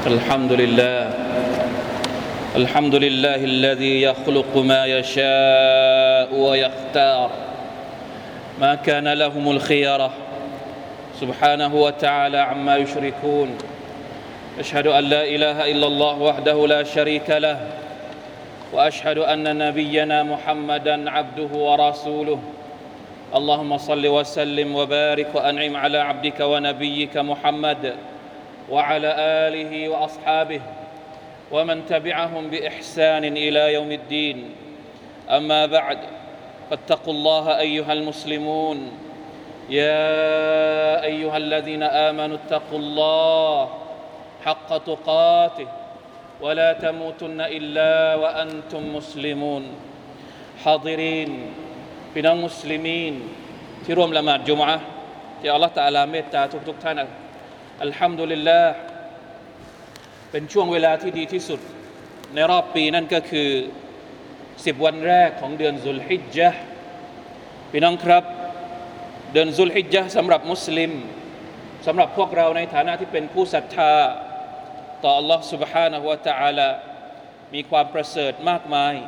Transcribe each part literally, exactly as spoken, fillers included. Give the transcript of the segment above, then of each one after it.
الحمد لله الحمد لله الذي يخلق ما يشاء ويختار ما كان لهم الخيرة سبحانه وتعالى عما يشركون أشهد أن لا إله إلا الله وحده لا شريك له وأشهد أن نبينا محمدا عبده ورسوله اللهم صل وسلم وبارك وأنعم على عبدك ونبيك محمد وعلى آله وأصحابه ومن تبعهم بإحسان إلى يوم الدين أما بعد فاتقوا الله أيها المسلمون يا أيها الذين آمنوا اتقوا الله حق تقاته ولا تموتن إلا وأنتم مسلمون حاضرين พี่น้องมุสลิมีนที่ร่วมละหมาดจุมอะห์ที่อัลเลาะห์ตะอาลาเมตตาทุกๆท่านอัลฮัมดุลิลลาห์เป็นช่วงเวลาที่ดีที่สุดในรอบปีนั่นก็คือสิบวันแรกของเดือนซุลฮิจญะห์พี่น้องครับเดือนซุลฮิจญะห์สำหรับมุสลิมสำหรับพวกเราในฐานะที่เป็นผู้ศรัทธาต่อ Allah سبحانه และ تعالى มีความประเสริฐมากมาย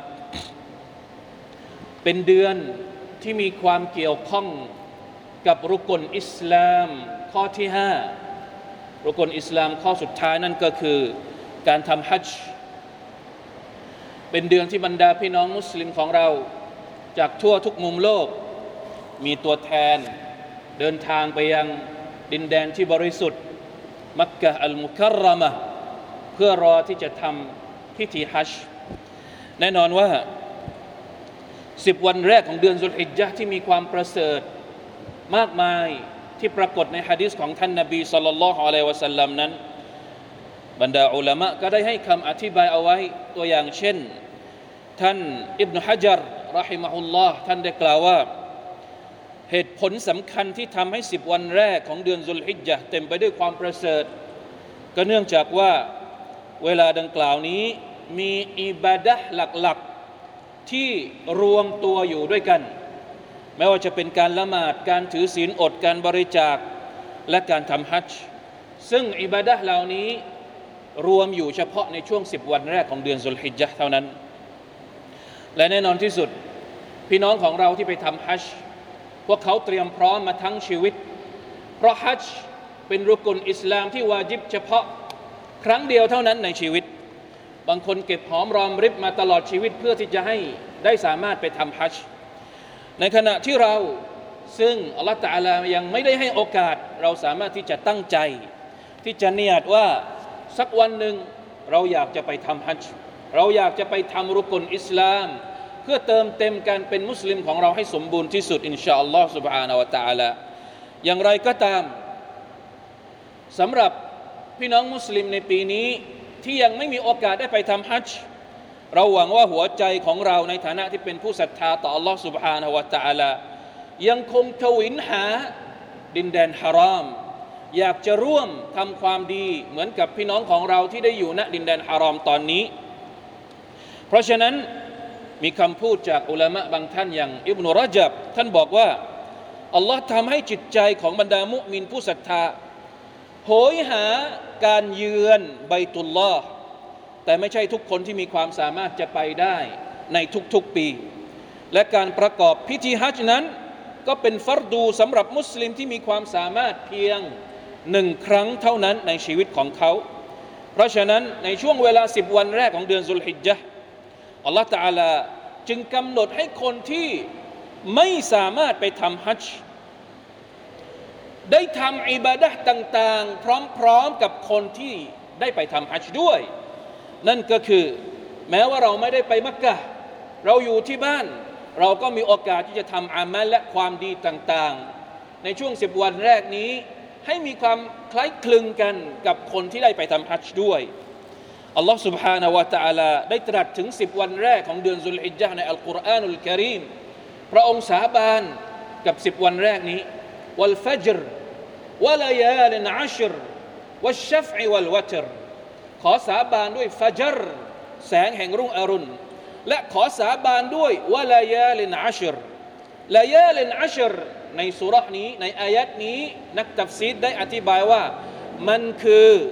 เป็นเดือนที่มีความเกี่ยวข้องกับรุกลอิสลามข้อที่ห้ารุกลอิสลามข้อสุดท้ายนั่นก็คือการทำฮัจญ์เป็นเดือนที่บรรดาพี่น้องมุสลิมของเราจากทั่วทุกมุมโลกมีตัวแทนเดินทางไปยังดินแดนที่บริสุทธิ์มักกะฮ์อัลมุคัรรมะห์เพื่อรอที่จะทำพิธีฮัจญ์แน่นอนว่าสิบวันแรกของเดือนซุลฮิจญะห์ที่มีความประเสริฐมากมายที่ปรากฏในหะดีษของท่านนบีศ็อลลัลลอฮุอะลัยฮิวะซัลลัมนั้นบรรดาอุลามะก็ได้ให้คำอธิบายเอาไว้ตัวอย่างเช่นท่านอิบนุฮะญัรเราะฮิมะฮุลลอฮ์ท่านได้กล่าวว่าเหตุผลสำคัญที่ทำให้สิบวันแรกของเดือนซุลฮิจญะห์เต็มไปด้วยความประเสริฐก็เนื่องจากว่าเวลาดังกล่าวนี้มีอิบาดะห์หลักๆที่รวมตัวอยู่ด้วยกันไม่ว่าจะเป็นการละหมาดการถือศีลอดการบริจาคและการทำฮัจญ์ซึ่งอิบาดะห์เหล่านี้รวมอยู่เฉพาะในช่วงสิบวันแรกของเดือนซุลฮิจญะห์เท่านั้นและแน่นอนที่สุดพี่น้องของเราที่ไปทำฮัจญ์พวกเขาเตรียมพร้อมมาทั้งชีวิตเพราะฮัจญ์เป็นรุกลอิสลามที่วาญิบเฉพาะครั้งเดียวเท่านั้นในชีวิตบางคนเก็บหอมรอมริบมาตลอดชีวิตเพื่อที่จะให้ได้สามารถไปทำฮัจญ์ในขณะที่เราซึ่งอัลเลาะห์ตะอาลายังไม่ได้ให้โอกาสเราสามารถที่จะตั้งใจที่จะเนียดว่าสักวันหนึ่งเราอยากจะไปทำฮัจญ์เราอยากจะไปทำรุกลอิสลามเพื่อเติมเต็มการเป็นมุสลิมของเราให้สมบูรณ์ที่สุดอินชาอัลลอฮ์ سبحانه และ تعالى อย่างไรก็ตามสำหรับพี่น้องมุสลิมในปีนี้ที่ยังไม่มีโอกาสได้ไปทำฮัจญ์เราหวังว่าหัวใจของเราในฐานะที่เป็นผู้ศรัทธาต่อ Allah سبحانه และ تعالى ยังคงทวินหาดินแดนฮารอมอยากจะร่วมทำความดีเหมือนกับพี่น้องของเราที่ได้อยู่ณดินแดนฮารอมตอนนี้เพราะฉะนั้นมีคำพูดจากอุลามะบางท่านอย่างอิบนุรญับท่านบอกว่าอัลลอฮ์ทำให้จิตใจของบรรดามุมินผู้ศรัทธาโหยหาการเยือนบัยตุลลอฮ์แต่ไม่ใช่ทุกคนที่มีความสามารถจะไปได้ในทุกๆปีและการประกอบพิธีฮัจญ์นั้นก็เป็นฟัรดูสำหรับมุสลิมที่มีความสามารถเพียงหนึ่งครั้งเท่านั้นในชีวิตของเขาเพราะฉะนั้นในช่วงเวลาสิบวันแรกของเดือนซุลฮิจญะห์อัลลอฮฺตะอาลาจึงกำหนดให้คนที่ไม่สามารถไปทำฮัจญ์ได้ทำอิบาดะห์ต่างๆพร้อมๆกับคนที่ได้ไปทำฮัจญ์ด้วยนั่นก็คือแม้ว่าเราไม่ได้ไปมักกะฮ์เราอยู่ที่บ้านเราก็มีโอกาสที่จะทำอามัลและความดีต่างๆในช่วงสิบวันแรกนี้ให้มีความคล้ายคลึงกันกับคนที่ได้ไปทำฮัจญ์ด้วยอัลลอฮ์ سبحانه และ تعالى ได้ตรัสถึงสิบวันแรกของเดือนซุลฮิจญะห์ในอัลกุรอานุลกะรีมพระองค์สาบานกับสิบวันแรกนี้วัลฟัจรวะลายาลินอัชรวัชชัฟอวัลวัตรขอสาบานด้วยฟัจรแสงแห่งรุ่งอรุณและขอสาบานด้วยวะลายาลินอัชรลายาลินอัชรในซูเราะห์นี้ในอายัดนี้นักตัฟซีรได้อธิบายว่ามันคือ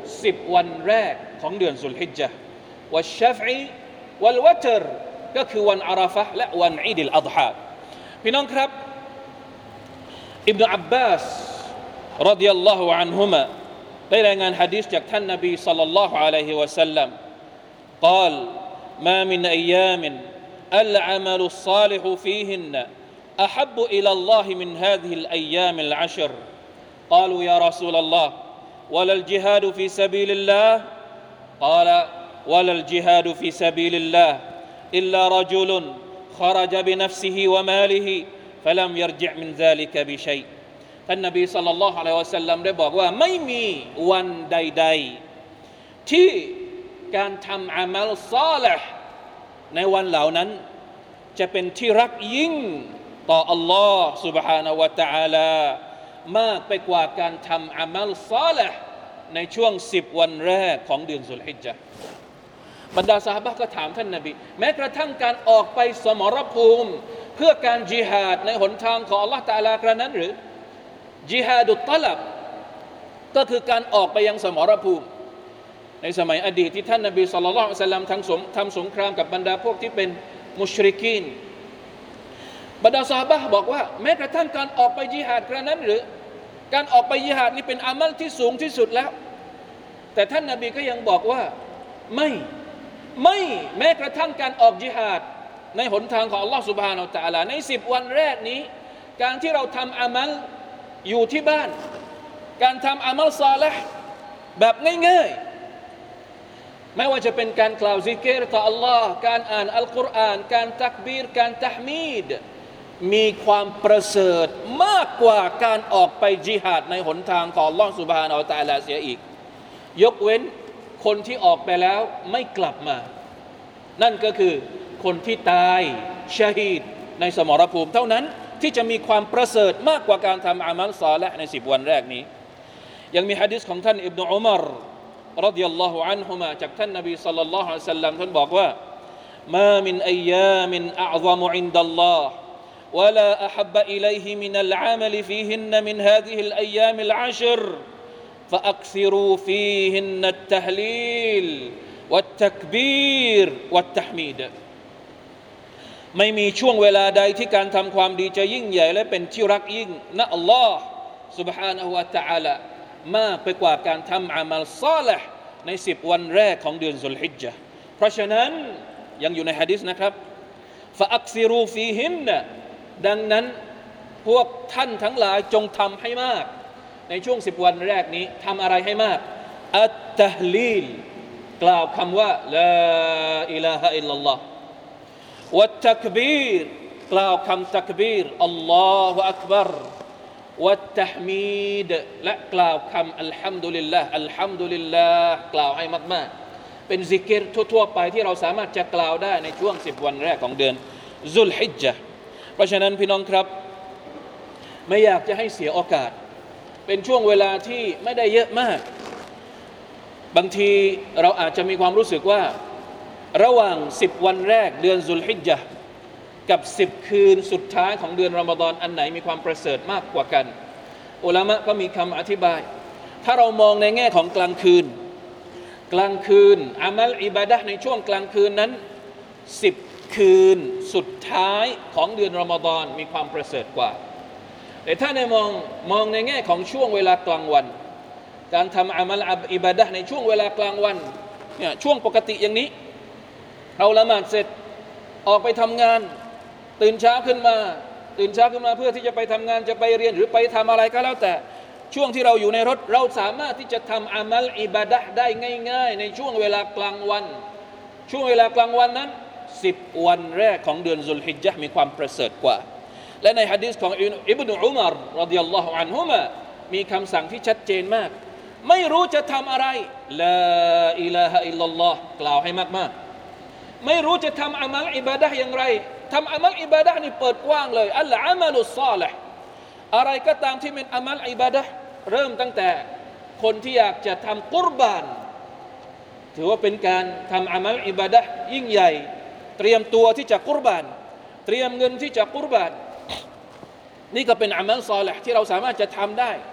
สิบวันแรกของเดือนซุลฮิจญะห์วัชชัฟอีวัลวัตรก็คือวันอาราฟะห์และวันอีดอัลอฎฮาพี่น้องครับอิบนุอับบาสรฎิยัลลอฮุอันฮุมะได้รายงานหะดีษจากท่านนบีศ็อลลัลลอฮุอะลัยฮิวะซัลลัม قال ما من أيام العمل الصالح فيهن أحب إلى الله من هذه الأيام العشر قالوا يا رسول الله ولا الجهاد في سبيل الله قال ولا الجهاد في سبيل الله إلا رجل خرج بنفسه وماله فلم يرجع من ذلك بشيء ท่านนบีศ็อลลัลลอฮุอะลัยฮิวะซัลลัมได้บอกว่าไม่มีวันใดๆที่การทำอามัลศอลิห์ในวันเหล่านั้นจะเป็นที่รักยิ่งต่ออัลลอฮ์ سبحانه และ تعالى มากไปกว่าการทำอามัลศอลิห์ในช่วงสิบวันแรกของเดือนซุลฮิจญะห์บรรดาซอฮาบะห์ก็ถามท่านนบีแม้กระทั่งการออกไปสมรภูมิเพื่อการญิฮาดในหนทางของอัลลอฮ์ตะอาลากระนั้นหรือญิฮาดุตตะลับก็คือการออกไปยังสมรภูมิในสมัยอดีตที่ท่านนบีศ็อลลัลลอฮุอะลัยฮิวะซัลลัมทั้งสมทำสงครามกับบรรดาพวกที่เป็นมุชริกีนบรรดาซอฮาบะห์บอกว่าแม้กระทั่งการออกไปญิฮาดกระนั้นหรือการออกไปญิฮาดนี่เป็นอามัลที่สูงที่สุดแล้วแต่ท่านนบีก็ยังบอกว่าไม่ไม่แม้กระทั่งการออกญิฮาดในหนทางของอัลลอฮฺซุบฮานะฮูวะตะอาลาในสิบวันแรกนี้การที่เราทำอามัลอยู่ที่บ้านการทำอามัลศอลิห์แบบง่ายๆไม่ว่าจะเป็นการกล่าวซิกรต่ออัลลอฮ์การอ่านอัลกุรอานการตักบีรการตะห์มีดมีความประเสริฐมากกว่าการออกไปญิฮาดในหนทางของอัลลอฮ์ซุบฮานะฮูวะตะอาลาเสียอีกยกเว้นคนที่ออกไปแล้วไม่กลับมานั่นก็คือคนที่ตายชะฮีดในสมรภูมิเท่านั้นที่จะมีความประเสริฐมากกว่าการทำอามัลศอลิห์ในสิบวันแรกนี้ยังมีหะดีษของท่านอิบนุอุมัรรฎิยัลลอฮุอันฮุมะจากท่านนบีศ็อลลัลลอฮุอะลัยฮิวะซัลลัมท่านบอกว่ามามินอัยยามินอัอฎอมุอินดัลลอฮ์ولا أحب إليه من العمل فيهن من هذه الأيام العشر فأكثروا فيهن التهليل والتكبير والتحميد ไม่มีช่วงเวลาใดที่การทำความดีจะยิ่งใหญ่และเป็นที่รักยิ่งณอัลลอฮ์ سبحانه และ تعالى มากไปกว่าการทำอามัลศอลิห์ในสิบวันแรกของเดือนซุลฮิจญะห์เพราะฉะนั้นยังอยู่ในหะดีษนะครับ فأكثروا فيهن ดังนั้นพวกท่านทั้งหลายจงทำให้มากในช่วงสิบวันแรกนี้ทำอะไรให้มากอัตตะฮลีลกล่าวคำว่าลาอิลาฮะอิลลัลลอฮ์วัตตักบีรกล่าวคำตักบีรอัลลอฮุอักบัรวัตตะฮมีดและกล่าวคำอัลฮัมดุลิลลาห์อัลฮัมดุลิลลาห์กล่าวให้มากๆเป็นซิกรทั่วๆไปที่เราสามารถจะกล่าวได้ในช่วงสิบวันแรกของเดือนซุลฮิจญะห์เพราะฉะนั้นพี่น้องครับไม่อยากจะให้เสียโอกาสเป็นช่วงเวลาที่ไม่ได้เยอะมากบางทีเราอาจจะมีความรู้สึกว่าระหว่างสิบวันแรกเดือนซุลฮิจญะห์กับสิบคืนสุดท้ายของเดือนรอมฎอนอันไหนมีความประเสริฐมากกว่ากันอุลามะก็มีคำอธิบายถ้าเรามองในแง่ของกลางคืนกลางคืนอามัลอิบาดะห์ในช่วงกลางคืนนั้นสิบคืนสุดท้ายของเดือนรอมฎอนมีความประเสริฐกว่าแต่ถ้าในมองมองในแง่ของช่วงเวลากลางวันการทำอามัลอิบาดะห์ในช่วงเวลากลางวันเนี่ยช่วงปกติอย่างนี้เราละหมาดเสร็จออกไปทำงานตื่นเช้าขึ้นมาตื่นเช้าขึ้นมาเพื่อที่จะไปทำงานจะไปเรียนหรือไปทำอะไรก็แล้วแต่ช่วงที่เราอยู่ในรถเราสามารถที่จะทำอามัลอิบาดะห์ได้ง่ายๆในช่วงเวลากลางวันช่วงเวลากลางวันนั้นสิบวันแรกของเดือนซุลฮิจญะห์มีความประเสริฐกว่าและในหะดีษของอิบนุอุมัรรฎิยัลลอฮุอันฮุมะมีคำสั่งที่ชัดเจนมากไม่รู้จะทำอะไรลาอิลาฮะอิลลัลลอฮ์กล่าวให้มากๆไม่รู้จะทำอามัลอิบาดะห์อย่างไรทำอามัลอิบาดะห์นี่เปิดกว้างเลยอัลอามัลุศศอลิห์อะไรก็ตามที่เป็นอามัลอิบาดะห์เริ่มตั้งแต่คนที่อยากจะทำกุรบานถือว่าเป็นการทำอามัลอิบาดะห์ยิ่งใหญ่เตรียมตัวที่จะกุรบานเตรียมเงินที่จะกุรบานนี่ก็เป็นอามัลศอลิห์ที่เราสามารถจะทำได้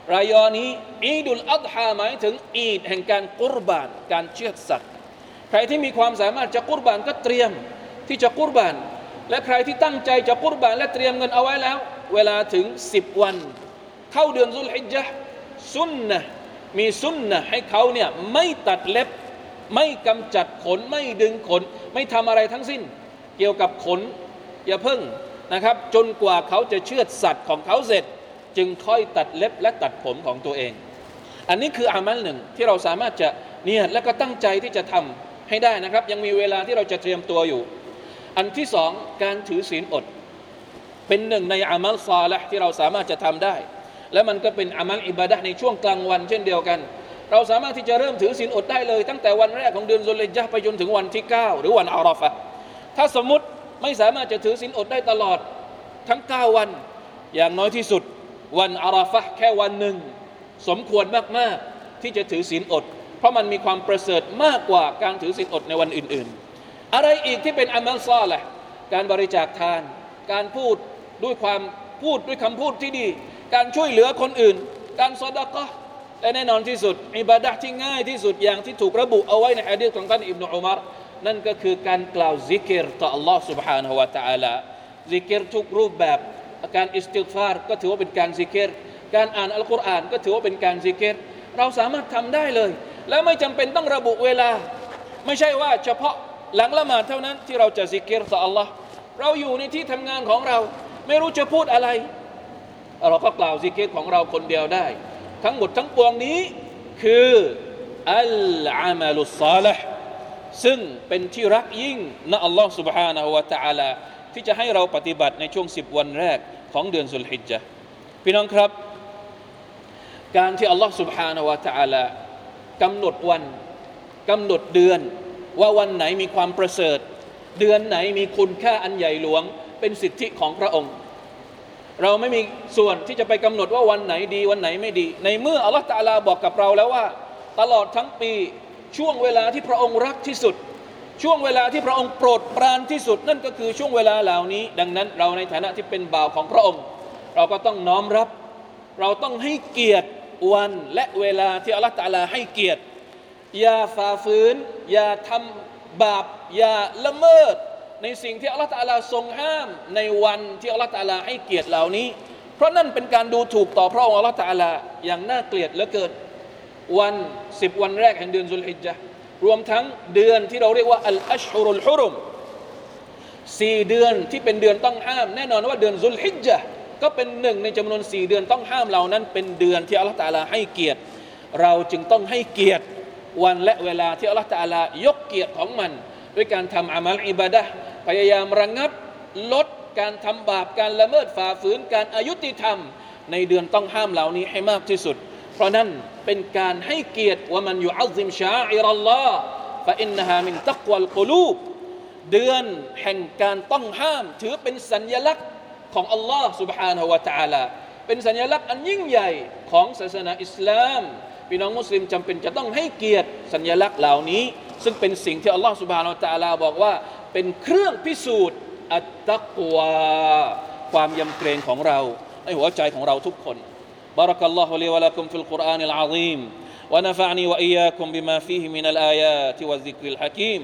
รายอนี้อีดุลอัฎฮาหมายถึงอีดแห่งการกุรบานการเชือดสัตว์ใครที่มีความสามารถจะกุรบานก็เตรียมที่จะกุรบานและใครที่ตั้งใจจะกุรบานและเตรียมเงินเอาไว้แล้วเวลาถึงสิบวันเข้าเดือนซุลฮิจญะห์สุนนะห์มีสุนนะห์ให้เขาเนี่ยไม่ตัดเล็บไม่กำจัดขนไม่ดึงขนไม่ทำอะไรทั้งสิ้นเกี่ยวกับขนอย่าเพิ่งนะครับจนกว่าเขาจะเชือดสัตว์ของเขาเสร็จจึงค่อยตัดเล็บและตัดผมของตัวเองอันนี้คืออามัลหนึ่งที่เราสามารถจะเนียดและก็ตั้งใจที่จะทำให้ได้นะครับยังมีเวลาที่เราจะเตรียมตัวอยู่อันที่สองการถือศีลอดเป็นหนึ่งในอามัลซอลิห์ที่เราสามารถจะทำได้และมันก็เป็นอามัลอิบาดะห์ในช่วงกลางวันเช่นเดียวกันเราสามารถที่จะเริ่มถือศีลอดได้เลยตั้งแต่วันแรกของเดือนซุลฮิจญะห์ไปจนถึงวันที่เก้าหรือวันอาราฟะห์ถ้าสมมุติไม่สามารถจะถือศีลอดได้ตลอดทั้งเก้าวันอย่างน้อยที่สุดวันอาราฟะห์แค่วันหนึ่งสมควรมากๆที่จะถือศีลอดเพราะมันมีความประเสริฐมากกว่าการถือศีลอดในวันอื่นๆอะไรอีกที่เป็นอามัลซอลิห์การบริจาคทานการพูดด้วยความพูดด้วยคำพูดที่ดีการช่วยเหลือคนอื่นการซอดาเกาะห์และแน่นอนที่สุดอิบาดะห์ที่ง่ายที่สุดอย่างที่ถูกระบุเอาไว้ในหะดีษของท่านอิบนุอุมัรนั่นก็คือการกล่าวซิกรต่อ Allah سبحانه และ تعالى ซิกรทุกรูปแบบการอิสติฆฟารก็ถือว่าเป็นการซิกรการอ่านอัลกุรอานก็ถือว่าเป็นการซิกรเราสามารถทำได้เลยและไม่จำเป็นต้องระบุเวลาไม่ใช่ว่าเฉพาะหลังละหมาดเท่านั้นที่เราจะซิกรต่อ Allah เราอยู่ในที่ทำงานของเราไม่รู้จะพูดอะไรเราก็กล่าวซิกรของเราคนเดียวได้ทั้งหมดทั้งปวงนี้คืออัลอามัลุศศอลิห์ซึ่งเป็นที่รักยิ่งนะอัลลอฮฺ سبحانه และ تعالى ที่จะให้เราปฏิบัติในช่วงสิบวันแรกของเดือนซุลฮิจญะห์พี่น้องครับการที่อัลลอฮฺ سبحانه และ تعالى กำหนดวันกำหนดเดือนว่าวันไหนมีความประเสริฐเดือนไหนมีคุณค่าอันใหญ่หลวงเป็นสิทธิของพระองค์เราไม่มีส่วนที่จะไปกำหนดว่าวันไหนดีวันไหนไม่ดีในเมื่ออัลลอฮฺตะอาลาบอกกับเราแล้วว่าตลอดทั้งปีช่วงเวลาที่พระองค์รักที่สุดช่วงเวลาที่พระองค์โปรดปรานที่สุดนั่นก็คือช่วงเวลาเหล่านี้ดังนั้นเราในฐานะที่เป็นบ่าวของพระองค์เราก็ต้องน้อมรับเราต้องให้เกียรติวันและเวลาที่อัลลอฮฺตะอาลาให้เกียรติอย่าฝ่าฝืนอย่าทำบาปอย่าละเมิดในสิ่งที่อัลลอฮฺตะอาลาทรงห้ามในวันที่อัลลอฮฺตะอาลาให้เกียรติเหล่านี้เพราะนั่นเป็นการดูถูกต่อพระองค์อัลลอฮฺตะอาลาอย่างน่าเกลียดเหลือเกินวันสิบวันแรกแห่งเดือนซุลฮิจญะห์รวมทั้งเดือนที่เราเรียกว่าอัลอัชฮุรุลฮุรุมสี่เดือนที่เป็นเดือนต้องห้ามแน่นอนว่าเดือนซุลฮิจญะห์ก็เป็นหนึ่งในจำนวนสี่เดือนต้องห้ามเหล่านั้นเป็นเดือนที่อัลลอฮฺตะอาลาให้เกียรติเราจึงต้องให้เกียรติวันและเวลาที่อัลลอฮฺตะอาลายกเกียรติของมันด้วยการทำอามัลอิบาดะห์พยายามระงับลดการทำบาปการละเมิดฝ่าฝืนการอายุติธรรมในเดือนต้องห้ามเหล่านี้ให้มากที่สุดเพราะนั้นเป็นการให้เกียรติว่ามันยุอัซซิมชาอิรัลลอฮ์ฟะอินนะฮามินตักวัลกุลูบเดือนแห่งการต้องห้ามถือเป็นสัญลักษณ์ของอัลลอฮ์ سبحانه และ تعالى เป็นสัญลักษณ์อันยิ่งใหญ่ของศาสนาอิสลามพี่น้องมุสลิมจำเป็นจะต้องให้เกียรติสัญลักษณ์เหล่านี้ซึ่งเป็นสิ่งที่อัลลอฮ์ سبحانه และ تعالى บอกว่าเป็นเครื่องพิสูจน์อัตตักวาความยำเกรงของเราในหัวใจของเราทุกคน بارك الله لي ولكم في القرآن العظيم ونفعني وإياكم بما فيه من الآيات والذكر الحكيم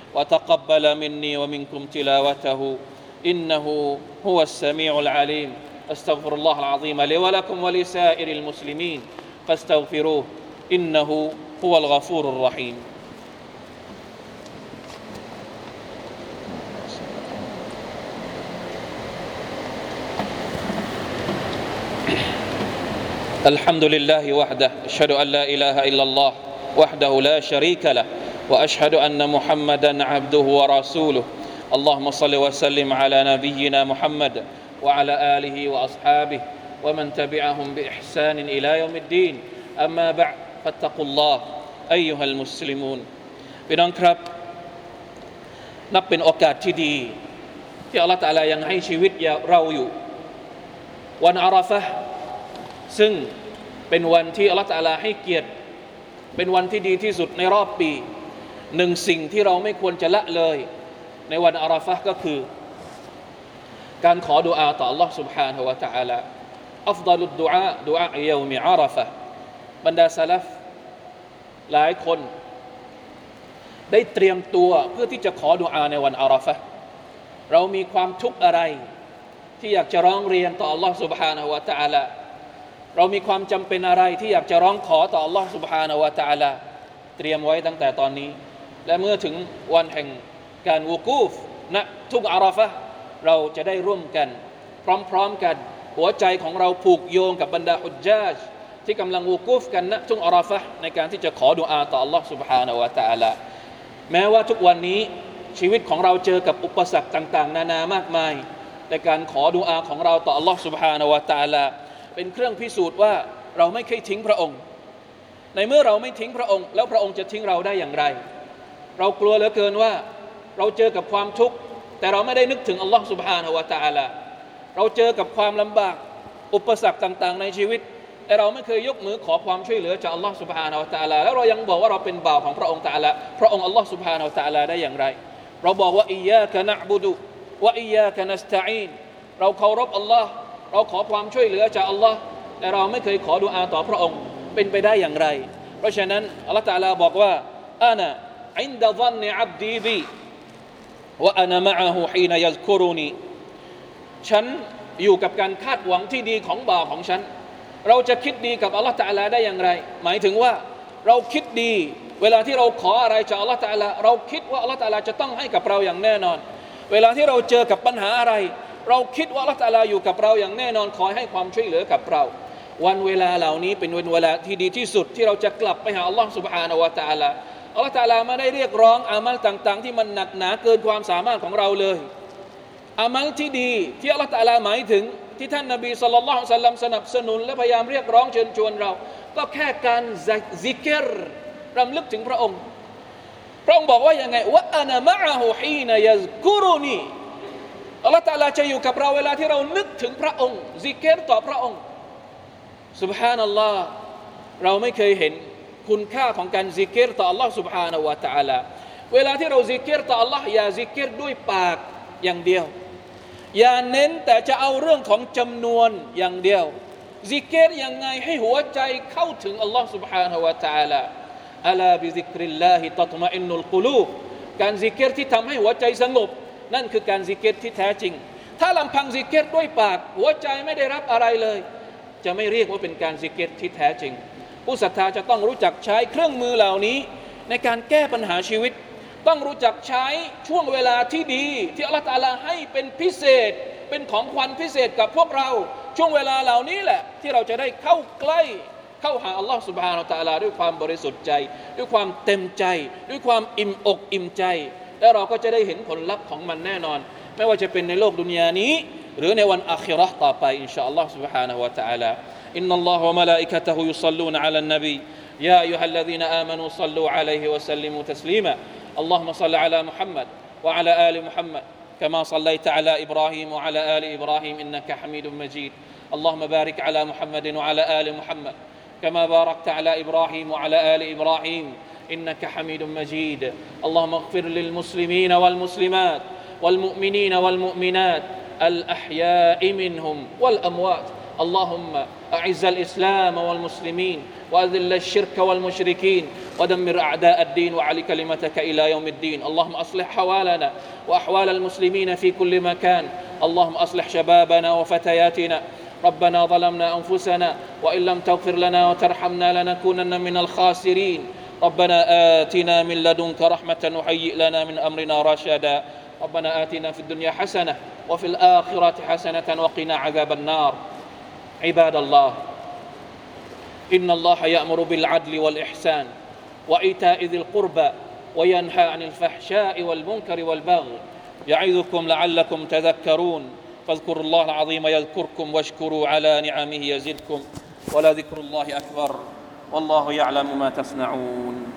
وتقبل مني ومنكم تلاوته إنه هو السميع العليم أستغفر الله العظيم لي ولكم ولسائر المسلمين فاستغفروه إنه هو الغفور الرحيم الحمد لله وحده أشهد أن لا إله إلا الله وحده لا شريك له وأشهد أن محمدا عبده ورسوله اللهم صل وسلم على نبينا محمد وعلى آله وأصحابه ومن تبعهم بإحسان إلى يوم الدين أما بعد فاتقوا الله أيها المسلمون พี่น้องครับนับเป็นโอกาสที่ดีที่อัลเลาะห์ตะอาลายังให้ชีวิตเราอยู่วันอาราฟะห์ซึ่งเป็นวันที่อัลเลาะห์ตะอาลาให้เกียรติเป็นวันที่ดีที่สุดในรอบปีหนึ่งสิ่งที่เราไม่ควรจะละเลยในวันอาราฟะห์ก็คือการขอดุอาต่อ Allah سبحانه และ تعالى อัฟฎอลุดดุอาดุอาเยามิอาราฟะห์บรรดาซะลัฟหลายคนได้เตรียมตัวเพื่อที่จะขอดุอาในวันอาราฟะห์เรามีความทุกข์อะไรที่อยากจะร้องเรียนต่อ Allah سبحانه และ تعالى เรามีความจำเป็นอะไรที่อยากจะร้องขอต่อ Allah سبحانه และ تعالى เตรียมไว้ตั้งแต่ตอนนี้และเมื่อถึงวันแห่งการวุกูฟณทุกอาราฟะห์เราจะได้ร่วมกันพร้อมๆกันหัวใจของเราผูกโยงกับบรรดาฮุจญาจที่กำลังวุกูฟกันณทุกอาราฟะห์ในการที่จะขอดุอาต่อ Allah سبحانه และ تعالى แม้ว่าทุกวันนี้ชีวิตของเราเจอกับอุปสรรคต่างๆนานามากมายในการขอดุอาของเราต่อ Allah سبحانه และ تعالى เป็นเครื่องพิสูจน์ว่าเราไม่เคยทิ้งพระองค์ในเมื่อเราไม่ทิ้งพระองค์แล้วพระองค์จะทิ้งเราได้อย่างไรเรากลัวเหลือเกินว่าเราเจอกับความทุกข์แต่เราไม่ได้นึกถึง Allah سبحانه และ تعالى เราเจอกับความลำบากอุปสรรคต่างๆในชีวิตแต่เราไม่เคยยกมือขอความช่วยเหลือจาก Allah سبحانه และ تعالى แล้วเรายังบอกว่าเราเป็นบ่าวของพระองค์ تعالى พระองค์ Allah سبحانه และ تعالى ได้อย่างไรเราบอกว่าอิยาคะนะอ์บุดุวะอิยาคะนัสตะอีนเราเคารพอัลลอฮ์เราขอความช่วยเหลือจากอัลลอฮ์แต่เราไม่เคยขอดุอาต่อพระองค์เป็นไปได้อย่างไรเพราะฉะนั้นอัลลอฮ์ตะอาลาบอกว่าอานะอินดะซันนิอับดีบีวะอานะมะอะฮูฮีนะยัซกุรุนีฉันอยู่กับการคาดหวังที่ดีของบ่าวของฉันเราจะคิดดีกับอัลลอฮ์ตะอาลาได้อย่างไรหมายถึงว่าเราคิดดีเวลาที่เราขออะไรจากอัลลอฮ์ตะอาลาเราคิดว่าอัลลอฮ์ตะอาลาจะต้องให้กับเราอย่างแน่นอนเวลาที่เราเจอกับปัญหาอะไรเราคิดว่าอัลลอฮ์ตะอาลาอยู่กับเราอย่างแน่นอนคอยให้ความช่วยเหลือกับเราวันเวลาเหล่านี้เป็นวันเวลาที่ดีที่สุดที่เราจะกลับไปหาอัลลอฮ์ سبحانه และ تعالى อัลลอฮ์ตะอาลาไม่ได้เรียกร้องอามัลต่างๆที่มันหนักหนาเกินความสามารถของเราเลยอามัลที่ดีที่อัลลอฮ์ตะอาลาหมายถึงที่ท่านนบีศ็อลลัลลอฮุอะลัยฮิวะซัลลัมสนับสนุนและพยายามเรียกร้องเชิญชวนเราก็แค่การซิกรรำลึกถึงพระองค์พระองค์บอกว่ายังไงวะอานะมะอะฮูฮีนะยัซกุรุนีอัลลอฮฺตะอาลาจะอยู่กับเราเวลาที่เรานึกถึงพระองค์ซิกรต่อพระองค์ซุบฮานัลลอฮ์เราไม่เคยเห็นคุณค่าของการซิกรต่อ Allah سبحانه และ تعالى เวลาที่เราซิกรต่อ Allah อย่าซิกรด้วยปากอย่างเดียวอย่าเน้นแต่จะเอาเรื่องของจำนวนอย่างเดียวซิกรยังไงให้หัวใจเข้าถึง Allah سبحانه และ تعالى อะลาบิซิกริลลาฮิตัตมะอินนุลกุลูบการซิกรที่ทำให้หัวใจสงบนั่นคือการซิกรที่แท้จริงถ้าลำพังซิกรด้วยปากหัวใจไม่ได้รับอะไรเลยจะไม่เรียกว่าเป็นการซิกรที่แท้จริงผู้ศรัทธาจะต้องรู้จักใช้เครื่องมือเหล่านี้ในการแก้ปัญหาชีวิตต้องรู้จักใช้ช่วงเวลาที่ดีที่อัลเลาะห์ตะอาลาให้เป็นพิเศษเป็นของขวัญพิเศษกับพวกเราช่วงเวลาเหล่านี้แหละที่เราจะได้เข้าใกล้เข้าหาอัลลอฮฺซุบฮานะฮูวะตะอาลาด้วยความบริสุทธิ์ใจด้วยความเต็มใจด้วยความอิ่มอกอิ่มใจและเราก็จะได้เห็นผลลัพธ์ของมันแน่นอนไม่ว่าจะเป็นในโลกดุนยานี้หรือในวันอาคิเราะห์ต่อไปอินชาอัลลอฮฺซุบฮานะฮูวะตะอาลาอินนัลลอฮะวะมะลาอิกะตะฮุยุศ็อลลูนอะลันนบียาอัยยูฮัลลซีนาอามานูศ็อลลูอะลัยฮิวะซัลลิมูตัสลีมาอัลลอฮุมะศ็อลลิอะลามุฮัมมัดวะอะลาอาลิมุฮัมมัดكما صليت على إبراهيم وعلى آل إبراهيم إنك حميد مجيد اللهم بارك على محمد وعلى آل محمد كما باركت على إبراهيم وعلى آل إبراهيم إنك حميد مجيد اللهم اغفر للمسلمين والمسلمات والمؤمنين والمؤمنات الأحياء منهم والأموات اللهم أعز الإسلام والمسلمين وأذل الشرك والمشركين ودمر أعداء الدين وعلي كلمتك إلى يوم الدين اللهم أصلح حوالنا وأحوال المسلمين في كل مكان اللهم أصلح شبابنا وفتياتنا ربنا ظلمنا أنفسنا وإن لم تغفر لنا وترحمنا لنكونن من الخاسرين ربنا آتنا من لدنك رحمة وهيئ لنا من أمرنا رشدا ربنا آتنا في الدنيا حسنة وفي الآخرة حسنة وقنا عذاب النار عباد الله إن الله يأمر بالعدل والإحسان وإيتاء ذي القربى وينهى عن الفحشاء والمنكر والبغي يعظكم لعلكم تذكرون فاذكروا الله العظيم يذكركم واشكروا على نعمه يزدكم ولذكر الله أكبر والله يعلم ما تصنعون